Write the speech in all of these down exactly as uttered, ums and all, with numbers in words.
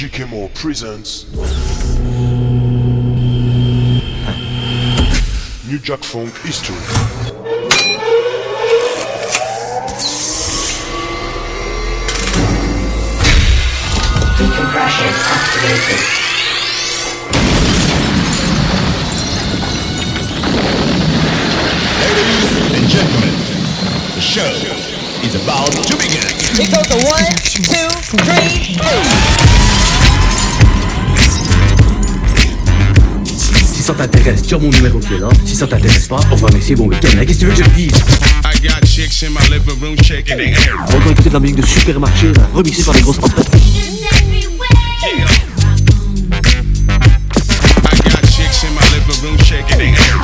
G K Mo presents New Jack Funk History. Decompression activated. Ladies and gentlemen, the show is about to begin. It goes to one, two, three, four. Si ça t'intéresse, tiens mon numéro qui est là. Si ça t'intéresse pas, on va essayer bon week-end. Qu'est-ce que tu veux que je te dise? I got chicks in my living room shaking their hair. On va encore écouter de la musique de supermarché, là, remixée par les grosses entreprises. Yeah. I got chicks in my living room shaking their hair.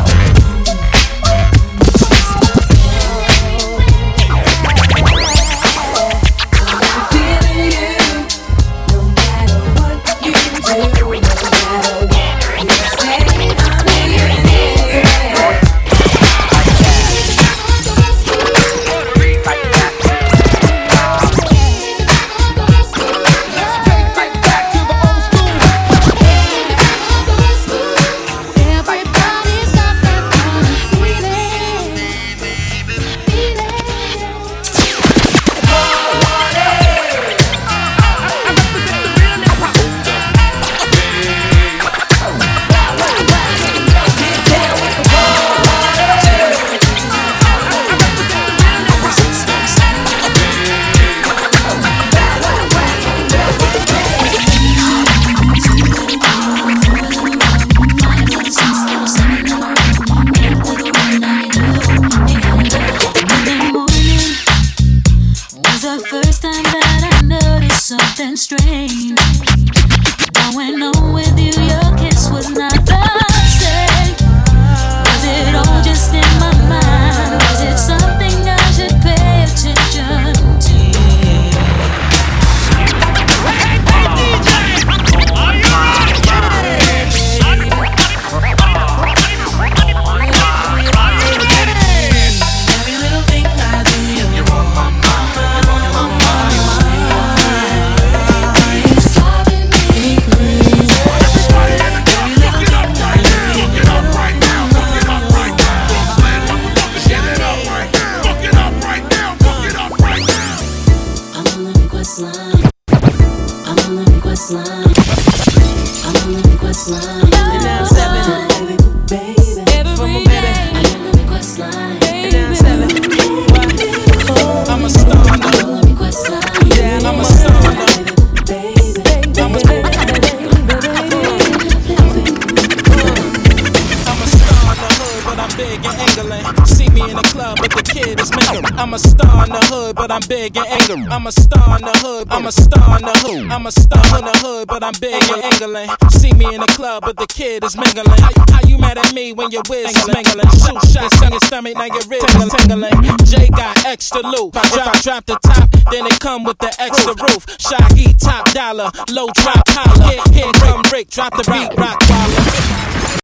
I'm a star in the hood, but I'm big and angry. I'm a star in the hood, I'm a star in the hood. I'm a star in the hood, but I'm big and angling. See me in the club, but the kid is mingling. How, how you mad at me when your whiz is mingling? Shoot shots in your stomach, now your ribs tingling, tingling. Jay got extra loot. If I drop, drop the top, then it come with the extra roof. Shaggy, top dollar, low drop holler. Here, here come Rick, drop the beat, rock waller.